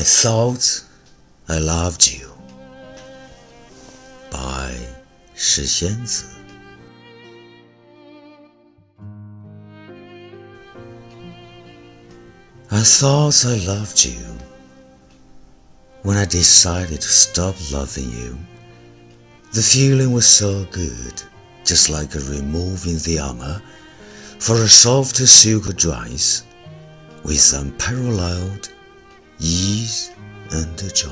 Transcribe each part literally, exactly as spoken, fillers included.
I thought I loved you by 石仙子。I thought I loved you when I decided to stop loving you. The feeling was so good, just like removing the armor for a soft silk dress with unparalleled ease and joy.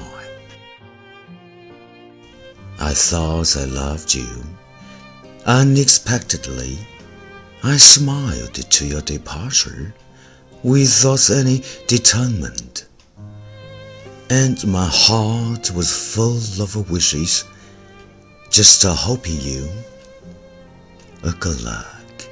I thought I loved you. Unexpectedly, I smiled to your departure without any determinant, and my heart was full of wishes, just hoping you a good luck.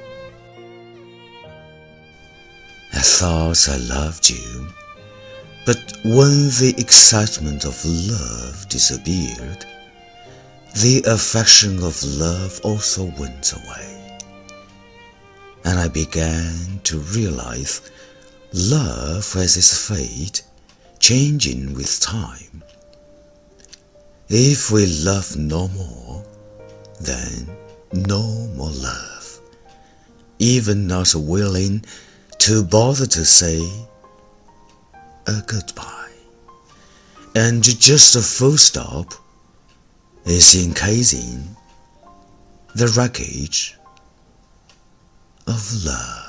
I thought I loved you, but when the excitement of love disappeared, the affection of love also went away, and I began to realize love has its fate, changing with time. If we love no more, then no more love, even not willing to bother to say a goodbye, and just a full stop is encasing the wreckage of love.